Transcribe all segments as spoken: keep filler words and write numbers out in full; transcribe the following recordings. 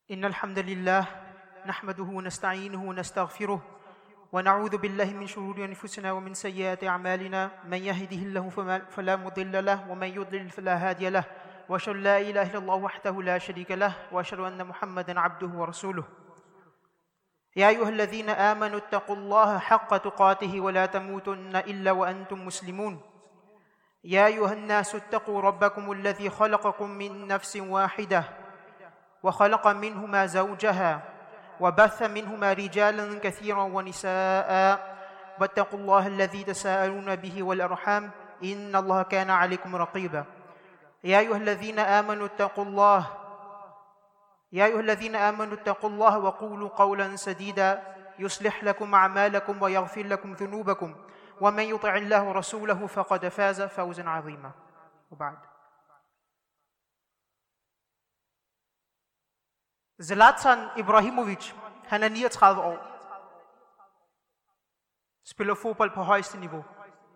إن الحمد لله نحمده ونستعينه ونستغفره ونعوذ بالله من شرور أنفسنا ومن سيئات أعمالنا من يهده الله فلا مضل له ومن يضلل فلا هادي له وأشهد أن لا إله إلا الله وحده لا شريك له وأشهد أن محمدا عبده ورسوله يا أيها الذين آمنوا اتقوا الله حق تقاته ولا تموتن إلا وأنتم مسلمون يا أيها الناس اتقوا ربكم الذي خلقكم من نفس واحدة وخلق منهما زوجها وبث منهما رجالا كثيرا ونساء واتقوا الله الذي تساءلون به والأرحام إن الله كان عليكم رقيبا يا أيها الذين آمنوا اتقوا الله يا أيها الذين آمنوا اتقوا الله وقولوا قولا سديدا يصلح لكم أعمالكم ويغفر لكم ذنوبكم ومن يطع الله ورسوله فقد فاز فوزا عظيما وبعد. Zlatan Ibrahimović, han er niogtredive år, spiller fodbold på højeste niveau.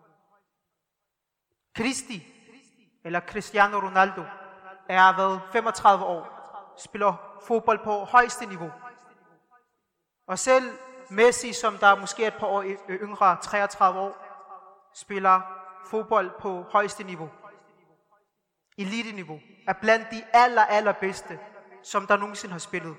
Cristi, eller Cristiano Ronaldo, er været femogtredive år, spiller fodbold på højeste niveau. Og selv Messi, som der måske er et par år yngre, treogtredive år, spiller fodbold på højeste niveau. Elite-niveau, er blandt de aller, allerbedste, som der nogensinde har spillet.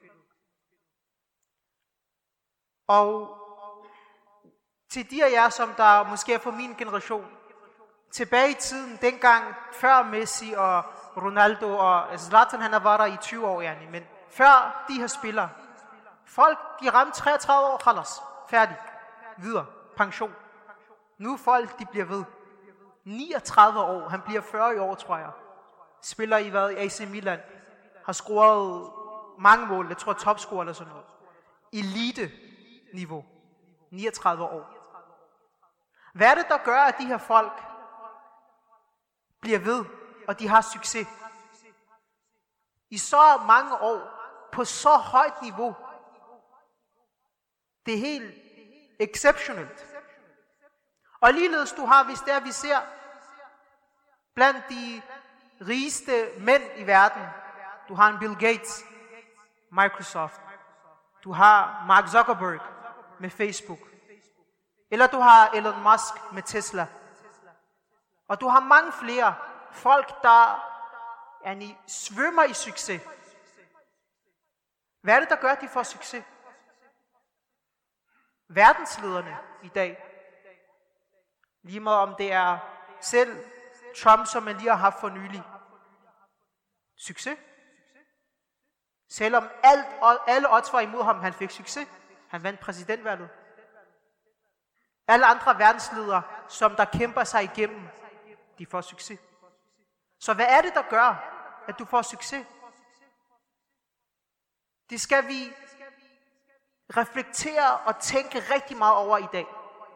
Og til de af jer, som der måske er fra min generation, tilbage i tiden, dengang før Messi og Ronaldo og Zlatan, han har været der i tyve år, yani, men før de her spillere, folk, de ramte treogtredive år, khalas, færdig, videre, pension. Nu folk, de bliver ved. niogtredive år, han bliver fyrre i år, tror jeg. Spiller i hvad? I A C Milan. Har scoret mange mål, jeg tror topscorer eller sådan noget. Elite-niveau. niogtredive år. Hvad er det, der gør, at de her folk bliver ved, og de har succes? I så mange år, på så højt niveau. Det er helt exceptionelt. Og ligeledes du har, hvis det er, vi ser blandt de rigeste mænd i verden. Du har en Bill Gates, Microsoft. Du har Mark Zuckerberg med Facebook. Eller du har Elon Musk med Tesla. Og du har mange flere folk, der yani, svømmer i succes. Hvad er det, der gør, at de får succes? Verdenslederne i dag. Lige meget om det er selv Trump, som man lige har haft for nylig. Succes. Selvom alt, alle odds var imod ham, han fik succes. Han vandt præsidentvalget. Alle andre verdensledere, som der kæmper sig igennem, de får succes. Så hvad er det, der gør, at du får succes? Det skal vi reflektere og tænke rigtig meget over i dag.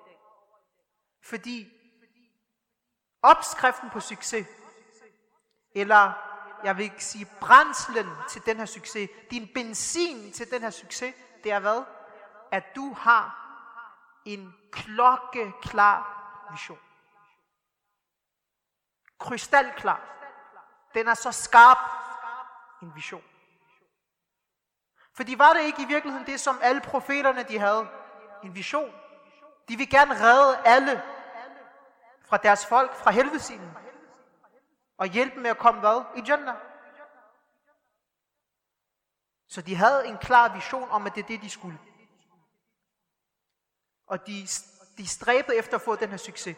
Fordi opskriften på succes, eller jeg vil ikke sige brændslen til den her succes, din benzin til den her succes, det er hvad? At du har en klokkeklar vision. Krystalklar. Den er så skarp en vision. Fordi var det ikke i virkeligheden det, som alle profeterne de havde? En vision. De vil gerne redde alle fra deres folk, fra helvedesilden. Og hjælpe med at komme hvad? I Jannah. Så de havde en klar vision om, at det er det, de skulle. Og de, de stræbede efter at få den her succes.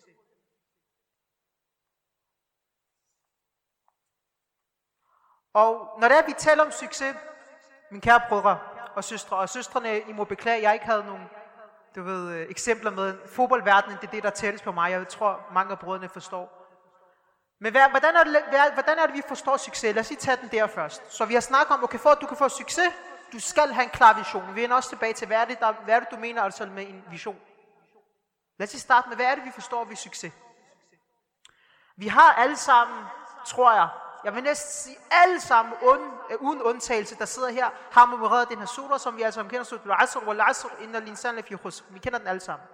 Og når det er, vi taler om succes, mine kære brødre og søstre, og søstrene, I må beklage, jeg ikke havde nogen du ved, eksempler med fodboldverdenen, det er det, der tælles på mig. Jeg tror, mange af brødrene forstår. Men hvad, hvordan, er det, hvad, hvordan er det, vi forstår succes? Lad os lige tage den der først. Så vi har snakket om, okay, for at du kan få succes, du skal have en klar vision. Vi vender også tilbage til, hvad er det, der, hvad er det du mener altså med en vision? Lad os lige starte med, hvad er det, vi forstår ved succes? Vi har alle sammen, tror jeg, jeg vil næsten sige alle sammen, uden, uden undtagelse, der sidder her, har memoreret den her sura, som vi altså kender, sura al-Asr wal-Asr innal insana lafi khusr. Vi kender den alle sammen.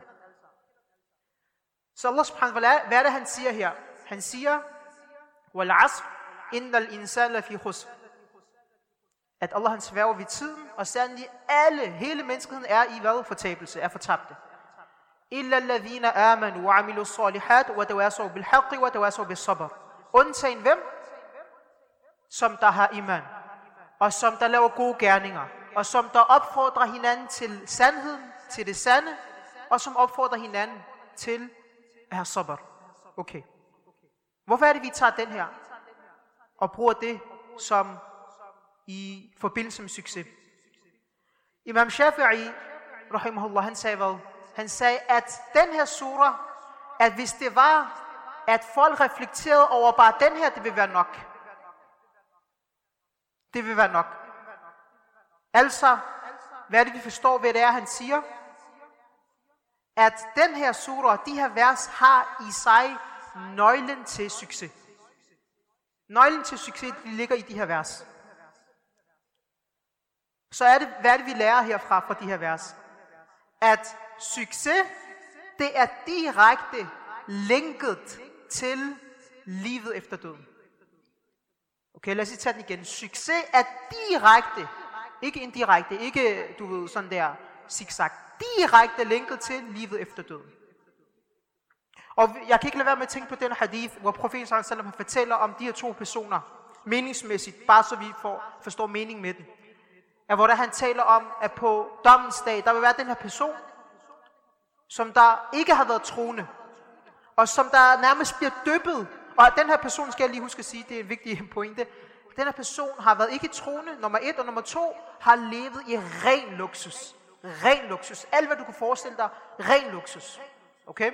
Så Allah subhanahu wa ta'ala, hvad er det, han siger her? Han siger, wal-Asr innal insana lafi khusr. at Allah han sværger ved tiden, og sandelig alle, hele menneskeheden er i hvad? Fortabelse, er fortabte. Illa alladhina amanu wa amilu salihat wa tawasaw bil haqqi wa tawasaw bis sabr. Undtagen hvem? Som der har iman, og som der laver gode gerninger, og som der opfordrer hinanden til sandheden, til det sande, og som opfordrer hinanden til at have sabr. Okay. Hvorfor er det, vi tager den her og bruger det som i forbindelse med succes? Imam Shafi'i, rahimahullah, han sagde hvad? Han sagde, at den her sura, at hvis det var, at folk reflekterede over bare den her, det vil være nok. Det vil være nok. Altså, hvad er det, vi forstår ved det er, han siger? At den her sura, de her vers, har i sig nøglen til succes. Nøglen til succes, de ligger i de her vers. Så er det, hvad er det, vi lærer herfra, fra de her vers? At succes, det er direkte linket til livet efter døden. Okay, lad os lige tage den igen. Succes er direkte, ikke indirekte, ikke, du ved, sådan der zigzag, direkte linket til livet efter døden. Og jeg kan ikke lade være med at tænke på den hadith, hvor profeten sallallahu alaihi wasallam fortæller om de her to personer, meningsmæssigt, bare så vi får, forstår mening med den. Ja, hvor der han taler om, at på dommens dag, der vil være den her person, som der ikke har været troende, og som der nærmest bliver dyppet. Og den her person, skal jeg lige huske at sige, det er en vigtig pointe. Den her person har været ikke troende, nummer et, og nummer to, har levet i ren luksus. Ren luksus. Alt hvad du kan forestille dig, ren luksus. Okay?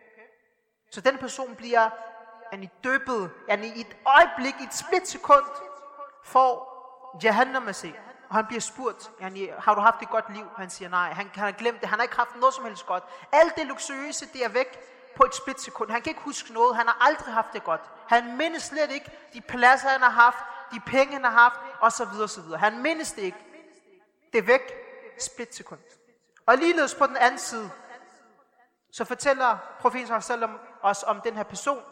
Så den person bliver han i dyppet, han i et øjeblik, i et splitsekund, får Jahannam at se. Og han bliver spurgt, har du haft et godt liv? Han siger nej, han, han har glemt det, han har ikke haft noget som helst godt. Alt det luksuriøse, det er væk på et splitsekund. Han kan ikke huske noget, han har aldrig haft det godt. Han mindes slet ikke de pladser, han har haft, de penge, han har haft, osv. osv. Han mindes det ikke. Det er væk, splitsekund. Og ligeledes på den anden side, så fortæller profeten sallallahu alaihi wasallam os om den her person,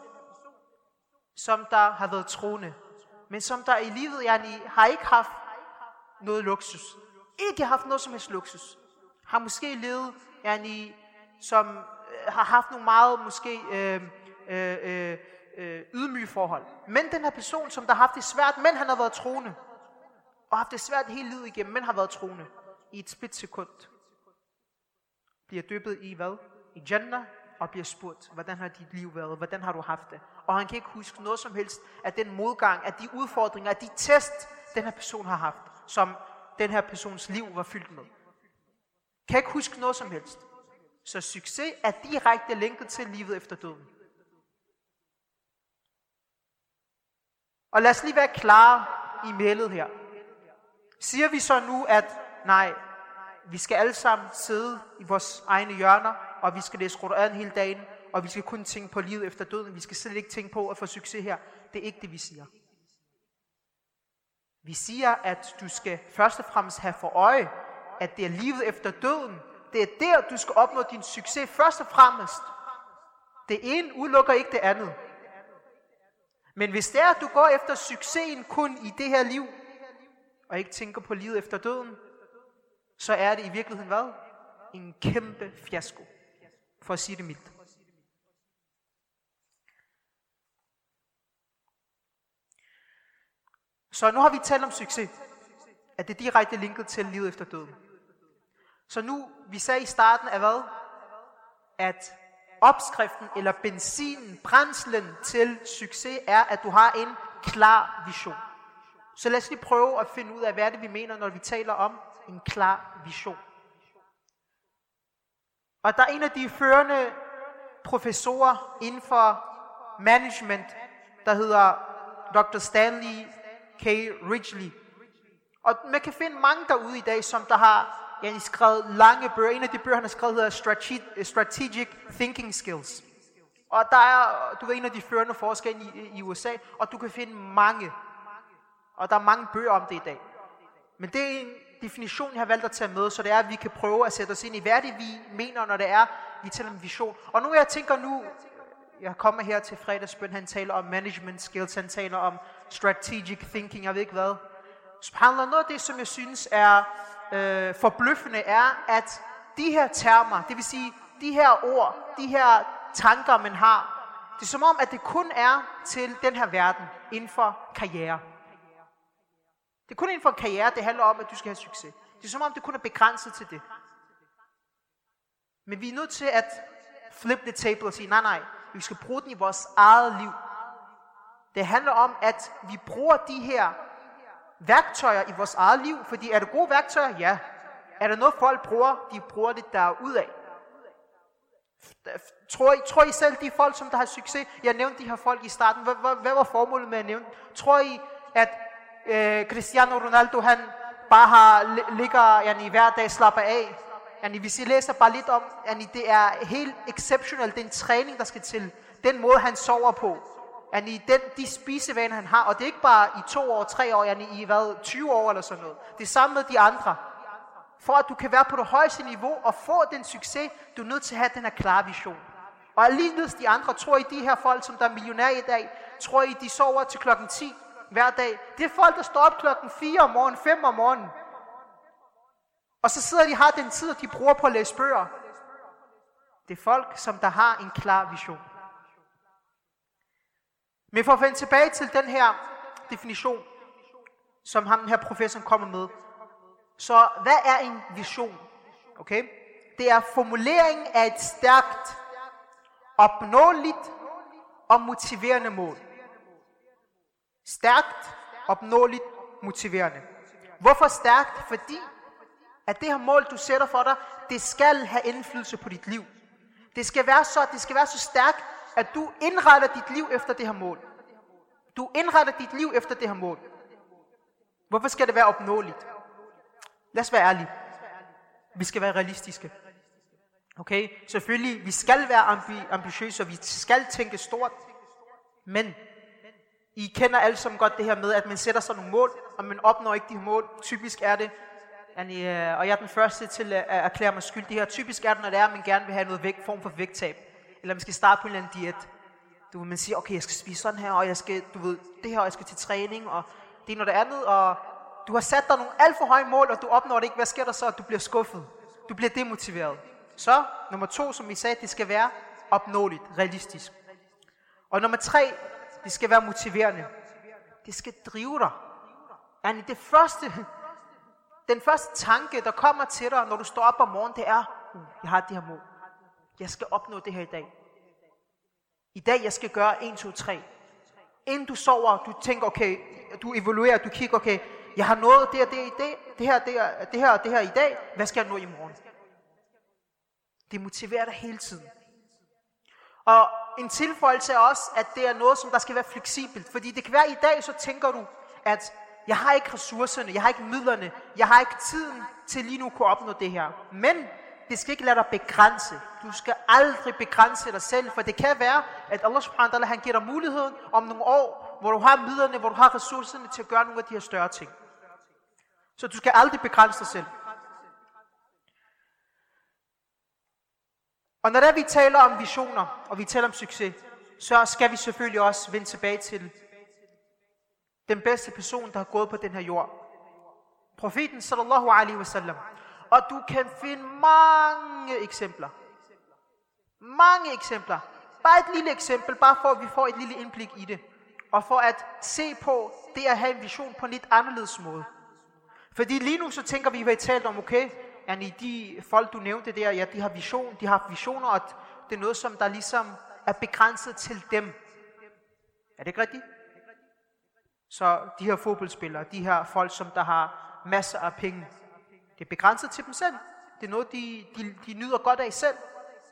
som der har været troende, men som der i livet yani, har ikke haft noget luksus. Ikke haft noget som helst luksus. Har måske levet, yani, som øh, har haft nogle meget måske øh, øh, øh, øh, ydmyge forhold. Men den her person, som der har haft det svært, men han har været troende, og haft det svært hele livet igennem, men har været troende, i et splitsekund, bliver dyppet i hvad? I Jannah, og bliver spurgt, hvordan har dit liv været, hvordan har du haft det? Og han kan ikke huske noget som helst af den modgang, af de udfordringer, af de test, den her person har haft, som den her persons liv var fyldt med. Kan ikke huske noget som helst. Så succes er direkte linket til livet efter døden. Og lad os lige være klare i mailet her. Siger vi så nu, at nej, vi skal alle sammen sidde i vores egne hjørner, og vi skal læse Koran hele dagen, og vi skal kun tænke på livet efter døden. Vi skal slet ikke tænke på at få succes her. Det er ikke det, vi siger. Vi siger, at du skal først og fremmest have for øje, at det er livet efter døden. Det er der, du skal opnå din succes først og fremmest. Det ene udelukker ikke det andet. Men hvis det er, at du går efter succesen kun i det her liv, og ikke tænker på livet efter døden, så er det i virkeligheden hvad? En kæmpe fiasko, for at sige det mildt. Så nu har vi talt om succes, at det er direkte linket til livet efter døden. Så nu, vi sagde i starten af hvad? At opskriften eller benzinen, brændslen til succes er, at du har en klar vision. Så lad os lige prøve at finde ud af, hvad er det, vi mener, når vi taler om en klar vision. Og der er en af de førende professorer inden for management, der hedder doktor Stanley K. Ridgely. Og man kan finde mange derude i dag, som der har ja, skrevet lange bøger. En af de bøger, han har skrevet, hedder Strategic Thinking Skills. Og der er, du er en af de førende forskere i, i U S A, og du kan finde mange. Og der er mange bøger om det i dag. Men det er en definition, jeg har valgt at tage med, så det er, at vi kan prøve at sætte os ind i, hvad det vi mener, når det er, vi taler om vision. Og nu jeg tænker nu, jeg kommer her til fredagsbøn, han taler om management skills, han taler om strategic thinking, jeg ved ikke hvad. Subhanallah, noget af det, som jeg synes er øh, forbløffende, er, at de her termer, det vil sige, de her ord, de her tanker, man har, det er som om, at det kun er til den her verden, inden for karriere. Det er kun inden for karriere, det handler om, at du skal have succes. Det er som om, det kun er begrænset til det. Men vi er nødt til at flip the table og sige, nej, nej, vi skal bruge den i vores eget liv. Det handler om, at vi bruger de her værktøjer i vores eget liv, fordi er det gode værktøjer? Ja. Er der noget, folk bruger? De bruger det derudad. Tror I, tror I selv, de folk, som der har succes? Jeg nævnte de her folk i starten. Hvad, hvad, hvad var formålet med at nævne? Tror I, at øh, Cristiano Ronaldo, han bare har, ligger yani, hver dag slapper af? Yani, hvis I læser bare lidt om, yani, det er helt exceptionelt, den træning, der skal til. Den måde, han sover på. Yani, den, de spisevaner, han har. Og det er ikke bare i to år, tre år, yani, i hvad, tyve år eller sådan noget. Det er samme med de andre. For at du kan være på det højeste niveau og få den succes, du er nødt til at have den her klare vision. Og alligevel de andre, tror I de her folk, som der er millionærer i dag, tror I de sover til klokken ti hver dag? Det er folk, der står op klokken fire om morgenen, fem om morgenen. Og så sidder de har den tid, de bruger på at læse bøger. Det er folk, som der har en klar vision. Men for at vende tilbage til den her definition, som ham den her professor kommer med. Så hvad er en vision? Okay? Det er formuleringen af et stærkt, opnåeligt og motiverende mål. Stærkt, opnåeligt, motiverende. Hvorfor stærkt? Fordi at det her mål, du sætter for dig, det skal have indflydelse på dit liv. Det skal være så, det skal være så stærkt, at du indretter dit liv efter det her mål. Du indretter dit liv efter det her mål. Hvorfor skal det være opnåeligt? Lad os være ærlige. Vi skal være realistiske. Okay? Selvfølgelig, vi skal være ambi- ambitiøse, og vi skal tænke stort. Men I kender alle sammen godt det her med, at man sætter sig nogle mål, og man opnår ikke de her mål. Typisk er det, og jeg er den første til at erklære mig skyldig her. Typisk er det, når det er, at man gerne vil have noget vægt, form for vægttab. Eller man skal starte på en eller anden diæt. Du vil man sige, okay, jeg skal spise sådan her, og jeg skal, du ved, det her, og jeg skal til træning, og det er noget andet, og du har sat dig nogle alt for høje mål, og du opnår det ikke. Hvad sker der så? Du bliver skuffet. Du bliver demotiveret. Så, nummer to, som vi sagde, det skal være opnåeligt, realistisk. Og nummer tre, det skal være motiverende. Det skal drive dig. Yani det første, den første tanke, der kommer til dig, når du står op om morgenen, det er, uh, jeg har det her mål. Jeg skal opnå det her i dag. I dag, jeg skal gøre et, to, tre. Inden du sover, du tænker, okay, du evaluerer, du kigger, okay, jeg har nået det og det i dag, det her, det her, det her og det her i dag, hvad skal jeg nå i morgen? Det motiverer dig hele tiden. Og en tilføjelse er også, at det er noget, som der skal være fleksibelt. Fordi det kan være, i dag, så tænker du, at jeg har ikke ressourcerne, jeg har ikke midlerne, jeg har ikke tiden til lige nu at kunne opnå det her. Men det skal ikke lade dig begrænse. Du skal aldrig begrænse dig selv, for det kan være, at Allah subhanahu wa ta'ala, han giver dig muligheden om nogle år, hvor du har midlerne, hvor du har ressourcerne til at gøre nogle af de her større ting. Så du skal aldrig begrænse dig selv. Og når der vi taler om visioner, og vi taler om succes, så skal vi selvfølgelig også vende tilbage til den bedste person, der har gået på den her jord. Profeten sallallahu alaihi wasallam. Og du kan finde mange eksempler. Mange eksempler. Bare et lille eksempel, bare for at vi får et lille indblik i det. Og for at se på det at have en vision på en lidt anderledes måde. Fordi lige nu så tænker vi, at vi har talt om, okay, yani de folk du nævnte der, ja, de har vision, de har visioner, og det er noget, som der ligesom er begrænset til dem. Er det ikke rigtigt? Så de her fodboldspillere, de her folk, som der har masser af penge, det er begrænset til dem selv. Det er noget, de, de, de nyder godt af selv.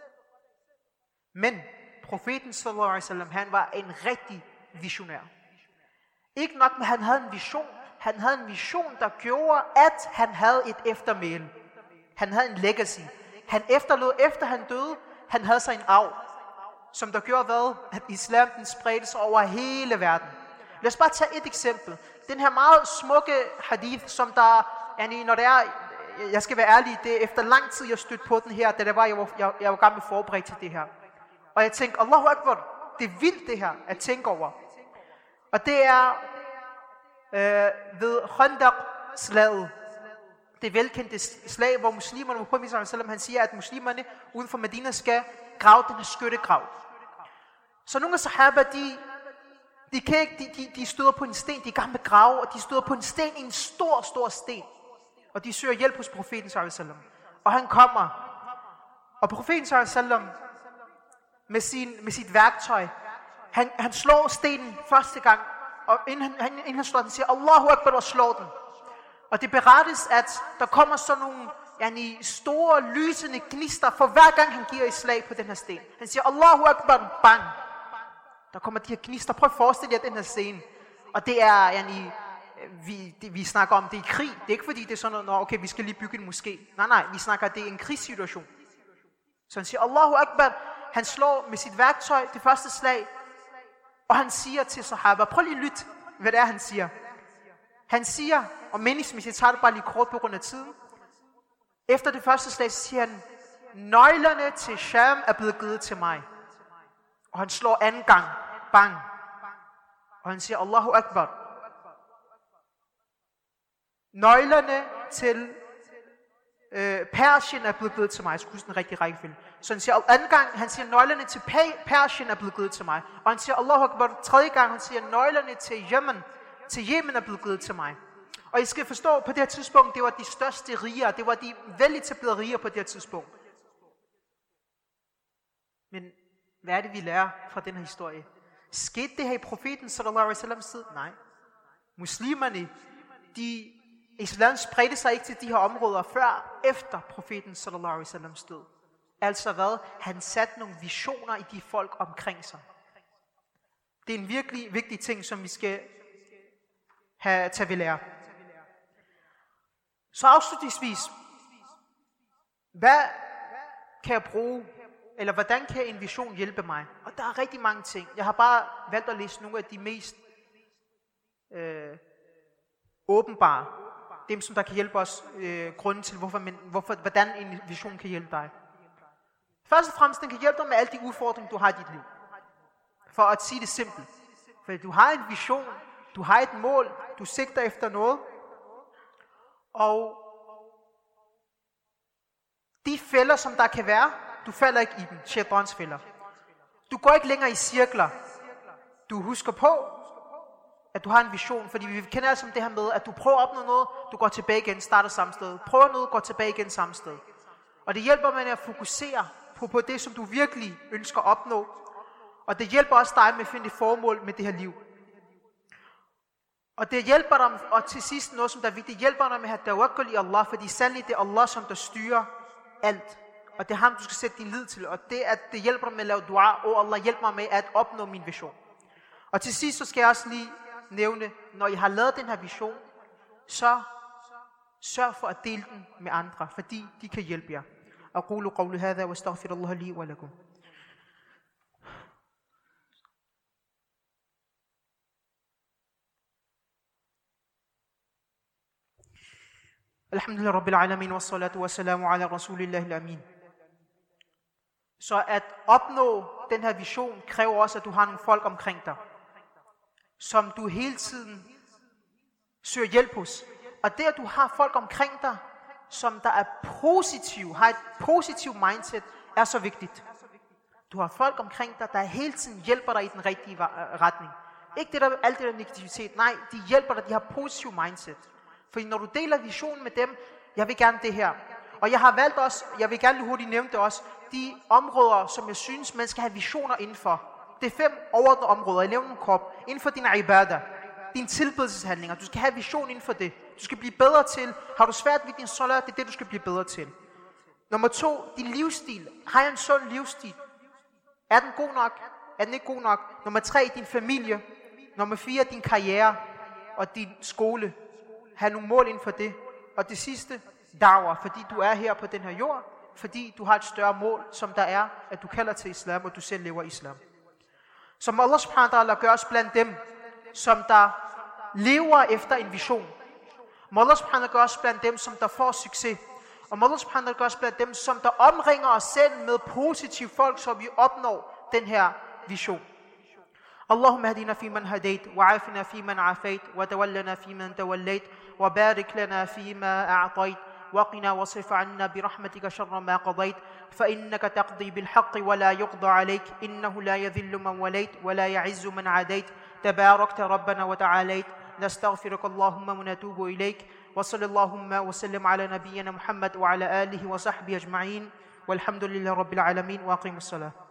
Men profeten sallallahu alaihi wasallam, han var en rigtig visionær. Ikke nok med, han havde en vision. Han havde en vision, der gjorde, at han havde et eftermæle. Han havde en legacy. Han efterlod, efter han døde, han havde sig en arv, som der gjorde hvad? At islam den spredte sig over hele verden. Lad os bare tage et eksempel. Den her meget smukke hadith, som der, yani, når det er, jeg skal være ærlig, det er efter lang tid, jeg stødte på den her, da det var, jeg var, jeg, jeg var gammel forberedt til det her. Og jeg tænkte, Allahu Akbar, det er vildt det her, at tænke over. Og det er, øh, ved Khandaq-slaget. Det velkendte slag, hvor muslimerne, hvor Muhammad sallallahu alaihi wasallam, han siger, at muslimerne uden for Medina skal grave den her skyttegrav. Så nogle af sahaba, de, de, kan ikke, de, de, de støder på en sten, de er i gang med grave, og de støder på en sten, en stor, stor sten. Og de søger hjælp hos profeten sallallahu alaihi wasallam. Og han kommer. Og profeten sallallahu alaihi wasallam med, sin, med sit værktøj, han, han slår stenen første gang, og inden han, inden han slår den, siger Allahu Akbar og slår den. Og det berettes, at der kommer sådan nogle yani, store, lysende gnister, for hver gang han giver et slag på den her sten. Han siger Allahu Akbar, bang. Der kommer de her gnister. Prøv at forestille jer den her scene. Og det er, yani, vi, det, vi snakker om, det er krig. Det er ikke fordi, det er sådan noget, okay, vi skal lige bygge en moské. Nej, nej, vi snakker, det er en krigssituation. Så han siger Allahu Akbar. Han slår med sit værktøj det første slag. Og han siger til sahaba, prøv lige at lytte, hvad det er, han siger. Han siger, og meningsmæssigt tager det bare lige kort på grund af tiden. Efter det første slag, så siger han, nøglerne til Sham er blevet givet til mig. Og han slår anden gang, bang. Og han siger, Allahu Akbar. Nøglerne til øh, Persien er blevet givet til mig. Jeg skulle huske den rigtige rækkefølge. Så han siger, anden gang, han siger, nøglerne til Persien er blevet givet til mig. Og han siger, Allahu Akbar. Tredje gang, han siger, nøglerne til Yemen, til Yemen er blevet givet til mig. Og I skal forstå, på det her tidspunkt, det var de største riger, det var de veletablerede riger på det her tidspunkt. Men hvad er det, vi lærer fra den her historie? Skete det her i profeten sallallahu alaihi wasallam tid? Nej. Muslimerne, de, islam spredte sig ikke til de her områder før efter profeten sallallahu alaihi wasallam død. Altså hvad? Han satte nogle visioner i de folk omkring sig. Det er en virkelig vigtig ting, som vi skal have tage ved lære. Så afslutningsvis, hvad kan jeg bruge, eller hvordan kan en vision hjælpe mig? Og der er rigtig mange ting. Jeg har bare valgt at læse nogle af de mest øh, åbenbare, dem som der kan hjælpe os, øh, grunden til, hvorfor, men, hvorfor, hvordan en vision kan hjælpe dig. Først og fremmest, den kan hjælpe dig med alle de udfordringer, du har i dit liv. For at sige det simpelt. For du har en vision, du har et mål, du sigter efter noget, og de fælder, som der kan være, du falder ikke i dem, shaitans fælder. Du går ikke længere i cirkler. Du husker på, at du har en vision, fordi vi kender altså det her med, at du prøver at opnå noget, du går tilbage igen, starter samme sted. Prøver noget, går tilbage igen samme sted. Og det hjælper med at fokusere på, på det, som du virkelig ønsker at opnå. Og det hjælper også dig med at finde et formål med det her liv. Og det hjælper dig, og til sidst noget, som der er vigtigt, hjælper dig med at have tawakkul i Allah, fordi sandelig det er Allah, som der styrer alt. Og det er ham, du skal sætte din lid til. Og det, at det hjælper dig med at lave dua, og Allah hjælper mig med at opnå min vision. Og til sidst, så skal jeg også lige nævne, når I har lavet den her vision, så sørg for at dele den med andre, fordi de kan hjælpe jer. أقول قولي هذا واستغفر الله لي ولكم. Alhamdulillah Rabbil Alamin, wa salatu wa salamu ala Rasulillah al-Amin. Så at opnå den her vision kræver også, at du har nogle folk omkring dig, som du hele tiden søger hjælp hos. Og det, at du har folk omkring dig, som der er positiv, har et positivt mindset, er så vigtigt. Du har folk omkring dig, der hele tiden hjælper dig i den rigtige retning. Ikke det der, alt det der negativitet, nej, de hjælper dig, de har positiv mindset. Fordi når du deler visionen med dem, jeg vil gerne det her. Og jeg har valgt også, jeg vil gerne hurtigt nævne det også, de områder, som jeg synes, man skal have visioner indenfor. Det er fem overordnede områder, jeg nævner en kop. Inden for dine ibadah, dine tilbedelseshandlinger. Du skal have vision inden for det. Du skal blive bedre til. Har du svært ved din salat, det er det, du skal blive bedre til. Nummer to, din livsstil. Har jeg en sund livsstil? Er den god nok? Er den ikke god nok? Nummer tre, din familie. Nummer fire, din karriere og din skole. Have nogle mål inden for det. Og det sidste, da'wah, fordi du er her på den her jord, fordi du har et større mål, som der er, at du kalder til islam, og du selv lever islam. Så må Allah subhanahu wa ta'ala gør os blandt dem, som der lever efter en vision. Må Allah subhanahu wa ta'ala gør os blandt dem, som der får succes. Og må Allah subhanahu wa ta'ala gør os blandt dem, som der omringer os selv med positive folk, så vi opnår den her vision. اللهم اهدنا فيمن هديت وعافنا فيمن عافيت وتولنا فيمن توليت وبارك لنا فيما أعطيت وقنا واصرف عنا برحمتك شر ما قضيت فإنك تقضي بالحق ولا يقضى عليك إنه لا يذل من وليت ولا يعز من عاديت تباركت ربنا وتعاليت نستغفرك اللهم ونتوب إليك وصلى اللهم وسلم على نبينا محمد وعلى آله وصحبه أجمعين والحمد لله رب العالمين وأقيموا الصلاة.